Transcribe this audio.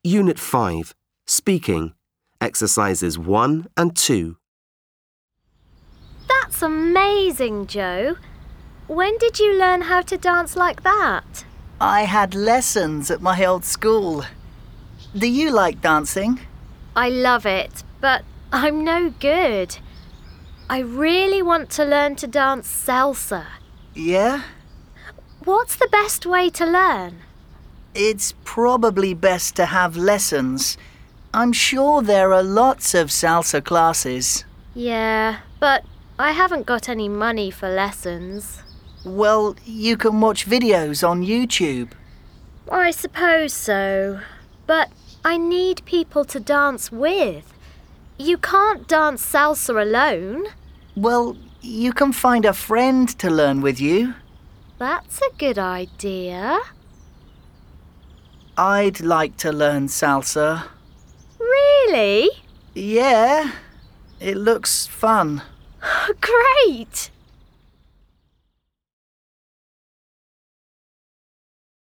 Unit 5, Speaking, Exercises 1 and 2. That's amazing, Joe. When did you learn how to dance like that? I had lessons at my old school. Do you like dancing? I love it, but I'm no good. I really want to learn to dance salsa. Yeah? What's the best way to learn? It's probably best to have lessons. I'm sure there are lots of salsa classes. Yeah, but I haven't got any money for lessons. Well, you can watch videos on YouTube. I suppose so, but I need people to dance with. You can't dance salsa alone. Well, you can find a friend to learn with you. That's a good idea. I'd like to learn salsa. Really? Yeah, it looks fun. Great!